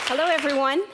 Hello, everyone.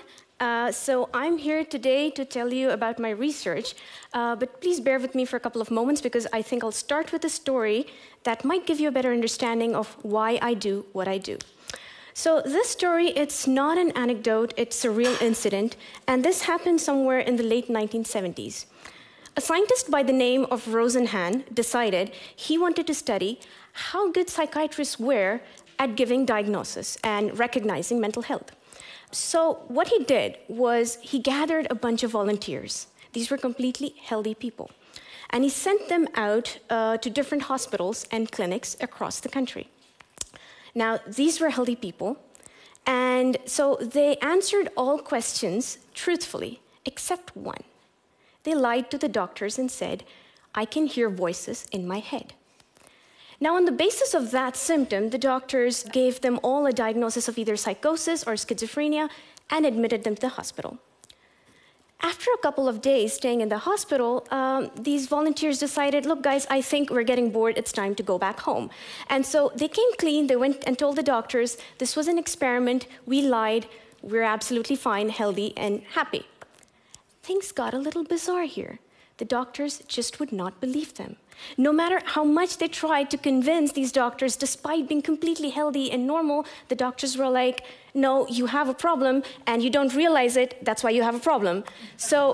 So I'm here today to tell you about my research, but please bear with me for a couple of moments because I think I'll start with a story that might give you a better understanding of why I do what I do. So this story, it's not an anecdote, it's a real incident, and this happened somewhere in the late 1970s. A scientist by the name of Rosenhan decided he wanted to study how good psychiatrists were at giving diagnosis and recognizing mental health. So what he did was he gathered a bunch of volunteers. These were completely healthy people. And he sent them out to different hospitals and clinics across the country. Now, these were healthy people, and so they answered all questions truthfully, except one. They lied to the doctors and said, "I can hear voices in my head." Now, on the basis of that symptom, the doctors gave them all a diagnosis of either psychosis or schizophrenia and admitted them to the hospital. After a couple of days staying in the hospital, these volunteers decided, look, guys, I think we're getting bored. It's time to go back home. And so they came clean. They went and told the doctors, this was an experiment. We lied. We're absolutely fine, healthy, and happy. Things got a little bizarre here. The doctors just would not believe them. No matter how much they tried to convince these doctors, despite being completely healthy and normal, the doctors were like, no, you have a problem, and you don't realize it, that's why you have a problem. So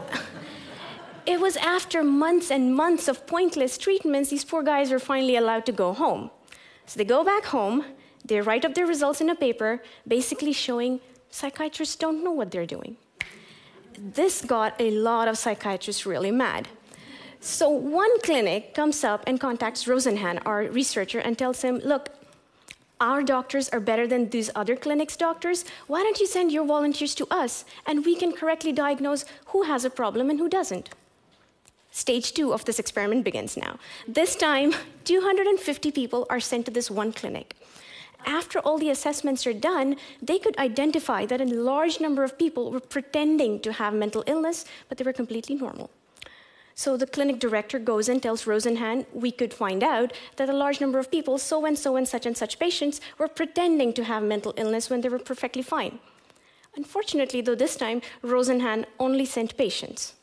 it was after months and months of pointless treatments, these poor guys were finally allowed to go home. So they go back home, they write up their results in a paper, basically showing psychiatrists don't know what they're doing. This got a lot of psychiatrists really mad. So one clinic comes up and contacts Rosenhan, our researcher, and tells him, look, our doctors are better than these other clinics' doctors. Why don't you send your volunteers to us, and we can correctly diagnose who has a problem and who doesn't? Stage 2 of this experiment begins now. This time, 250 people are sent to this one clinic. After all the assessments are done, they could identify that a large number of people were pretending to have mental illness, but they were completely normal. So the clinic director goes and tells Rosenhan, we could find out that a large number of people, so and such patients, were pretending to have mental illness when they were perfectly fine. Unfortunately, though, this time, Rosenhan only sent patients.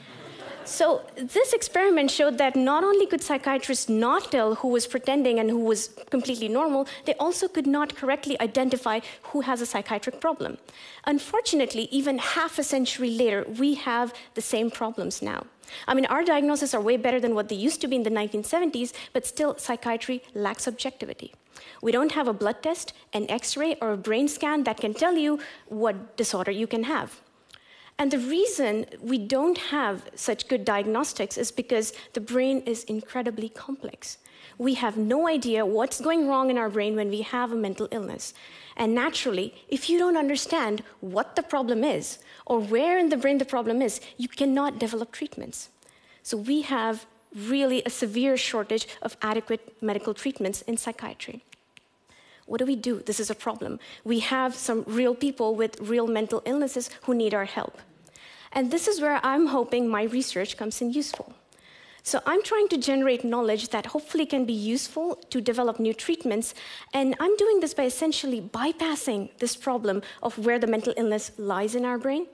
So this experiment showed that not only could psychiatrists not tell who was pretending and who was completely normal, they also could not correctly identify who has a psychiatric problem. Unfortunately, even half a century later, we have the same problems now. I mean, our diagnoses are way better than what they used to be in the 1970s, but still psychiatry lacks objectivity. We don't have a blood test, an X-ray, or a brain scan that can tell you what disorder you can have. And the reason we don't have such good diagnostics is because the brain is incredibly complex. We have no idea what's going wrong in our brain when we have a mental illness. And naturally, if you don't understand what the problem is, or where in the brain the problem is, you cannot develop treatments. So we have really a severe shortage of adequate medical treatments in psychiatry. What do? This is a problem. We have some real people with real mental illnesses who need our help. And this is where I'm hoping my research comes in useful. So I'm trying to generate knowledge that hopefully can be useful to develop new treatments, and I'm doing this by essentially bypassing this problem of where the mental illness lies in our brain.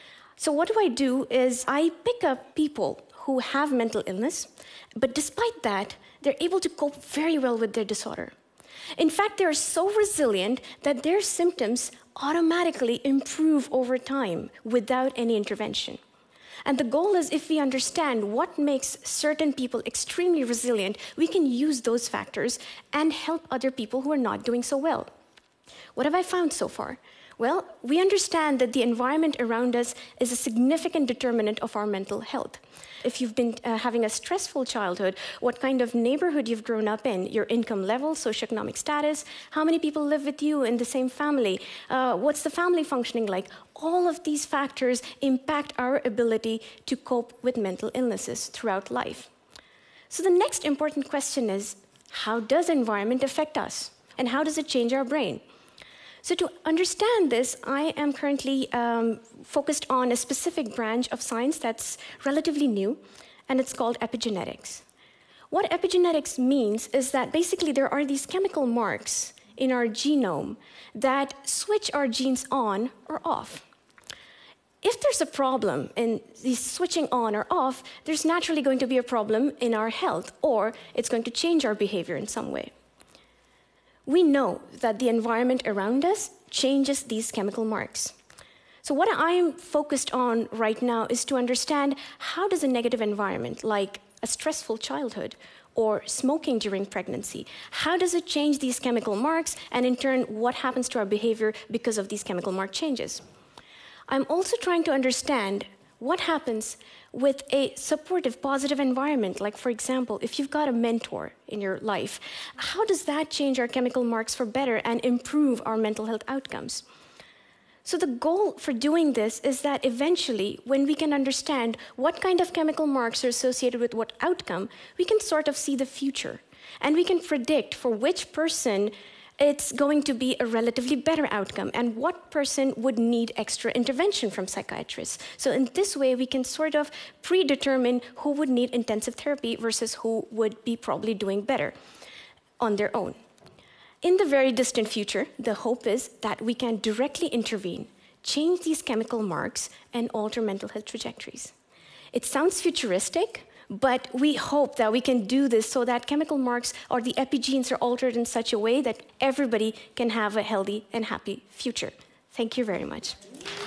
So what I do is I pick up people who have mental illness, but despite that, they're able to cope very well with their disorder. In fact, they're so resilient that their symptoms automatically improve over time without any intervention. And the goal is, if we understand what makes certain people extremely resilient, we can use those factors and help other people who are not doing so well. What have I found so far? Well, we understand that the environment around us is a significant determinant of our mental health. If you've been having a stressful childhood, what kind of neighborhood you've grown up in, your income level, socioeconomic status, how many people live with you in the same family, what's the family functioning like? All of these factors impact our ability to cope with mental illnesses throughout life. So the next important question is, how does environment affect us? And how does it change our brain? So to understand this, I am currently focused on a specific branch of science that's relatively new, and it's called epigenetics. What epigenetics means is that basically there are these chemical marks in our genome that switch our genes on or off. If there's a problem in these switching on or off, there's naturally going to be a problem in our health, or it's going to change our behavior in some way. We know that the environment around us changes these chemical marks. So what I'm focused on right now is to understand how does a negative environment, like a stressful childhood or smoking during pregnancy, how does it change these chemical marks, and in turn, what happens to our behavior because of these chemical mark changes? I'm also trying to understand what happens with a supportive, positive environment. Like, for example, if you've got a mentor in your life, how does that change our chemical marks for better and improve our mental health outcomes? So the goal for doing this is that eventually, when we can understand what kind of chemical marks are associated with what outcome, we can sort of see the future. And we can predict for which person it's going to be a relatively better outcome, and what person would need extra intervention from psychiatrists. So in this way, we can sort of predetermine who would need intensive therapy versus who would be probably doing better on their own. In the very distant future, the hope is that we can directly intervene, change these chemical marks, and alter mental health trajectories. It sounds futuristic, but we hope that we can do this so that chemical marks or the epigenes are altered in such a way that everybody can have a healthy and happy future. Thank you very much.